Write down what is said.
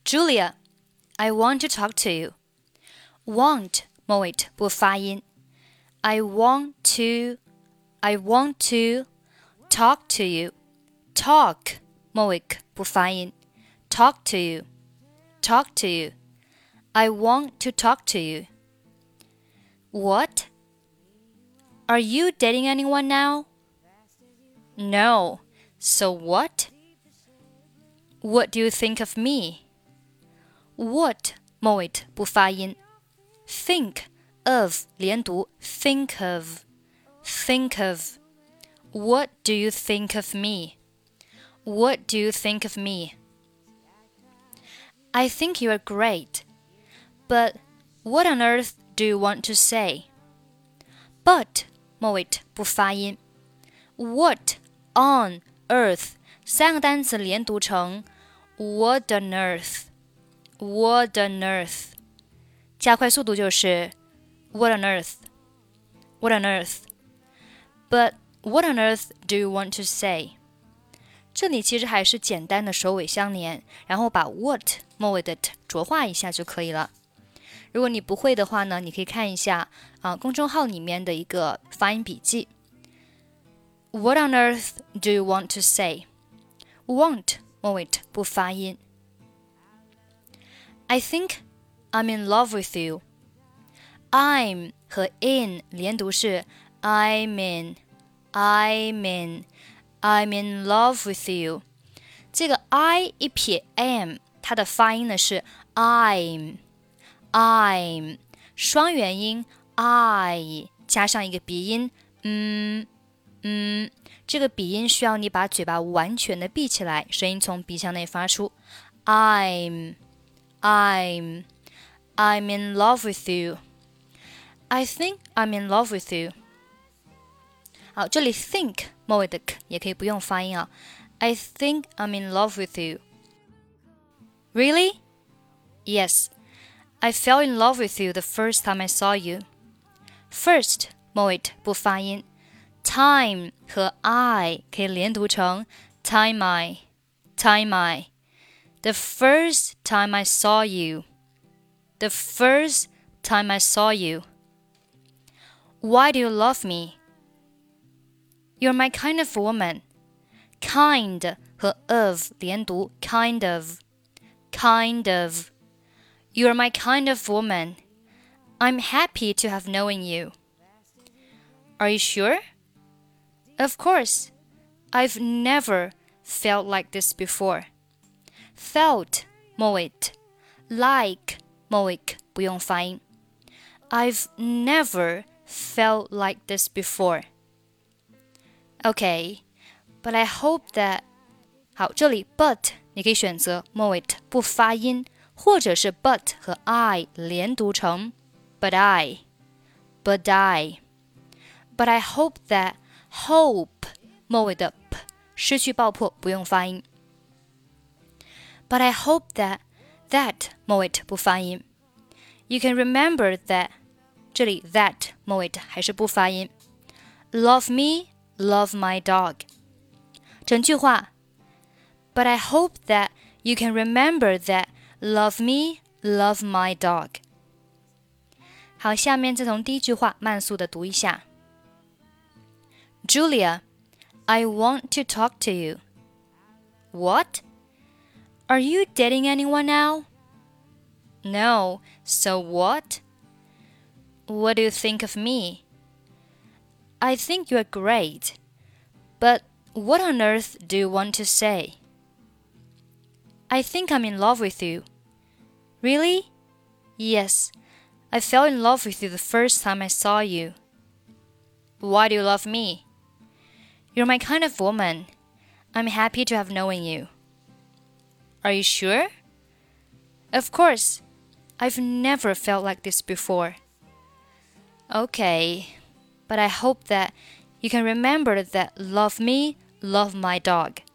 Julia, I want to talk to you. Want 末尾不发音。I want to talk to you. Talk 末尾不发音。Talk to you. I want to talk to you. What? Are you dating anyone now? No. So what? What do you think of me? What 末尾不发音。Think of 连读 think of. What do you think of me? What do you think of me? I think you are great. But what on earth do you want to say? But 末尾不发音。What on earth 三个单词连读成 What on earth? What on earth? 加快速度就是 What on earth? What on earth? But what on earth do you want to say? 这里其实还是简单的首尾相连，然后把 what 末尾的 t 浊化一下就可以了。如果你不会的话呢，你可以看一下公众号里面的一个发音笔记。What on earth do you want to say? Want 末尾不发音。I think I'm in love with you. I'm 和 in 连读是 I'm in love with you. 这个 I 一撇 am 它的发音呢是 I'm 双元音 I 加上一个鼻音这个鼻音需要你把嘴巴完全的闭起来，声音从鼻腔内发出。I'm in love with you. I think I'm in love with you. 好，这里 think 末尾的 k 也可以不用发音啊。I think I'm in love with you. Really? Yes. I fell in love with you the first time I saw you. First 末尾不发音。Time 和 I 可以连读成 time I. The first time I saw you. The first time I saw you. Why do you love me? You're my kind of woman. Kind 和 of 连读 kind of. You're my kind of woman. I'm happy to have known you. Are you sure? Of course. I've never felt like this before. Felt 末尾 like 末尾不用发音。I've never felt like this before. Okay, but I hope that 好，这里 but 你可以选择末尾不发音，或者是 but 和 I 连读成 but I. But I hope that hope 末尾的 p 失去爆破，不用发音。But I hope that 末尾不发音。You can remember that 这里 that 末尾还是不发音。Love me, love my dog. 整句话 But I hope that you can remember that love me, love my dog. 好，下面再从第一句话慢速的读一下。Julia, I want to talk to you. What? Are you dating anyone now? No. So what? What do you think of me? I think you are great. But what on earth do you want to say? I think I'm in love with you. Really? Yes. I fell in love with you the first time I saw you. Why do you love me? You're my kind of woman. I'm happy to have known you. Are you sure? Of course. I've never felt like this before. Okay, but I hope that you can remember that love me, love my dog.